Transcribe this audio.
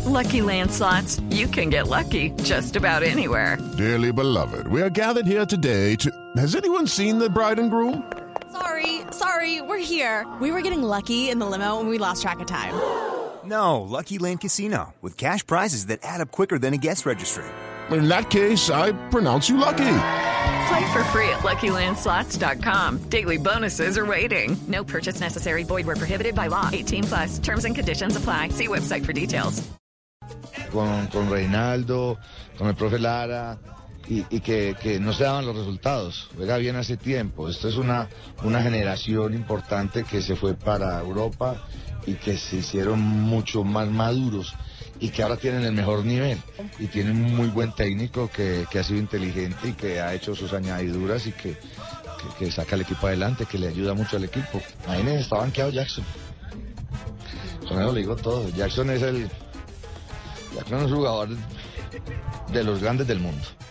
Lucky Land Slots, you can get lucky just about anywhere. Dearly beloved, we are gathered here today to... Has anyone seen the bride and groom? Sorry, we're here. We were getting lucky in the limo and we lost track of time. No, Lucky Land Casino, with cash prizes that add up quicker than a guest registry. In that case, I pronounce you lucky. Play for free at LuckyLandSlots.com. Daily bonuses are waiting. No purchase necessary. Void where prohibited by law. 18+. Terms and conditions apply. See website for details. Con Reinaldo, con el profe Lara, y que no se daban los resultados. Juega bien hace tiempo. Esto es una generación importante que se fue para Europa y que se hicieron mucho más maduros y que ahora tienen el mejor nivel y tienen un muy buen técnico que ha sido inteligente y que ha hecho sus añadiduras y que saca el equipo adelante, que le ayuda mucho al equipo. Ahí está banqueado Jackson. Con eso le digo todo. Jackson es un jugador de los grandes del mundo.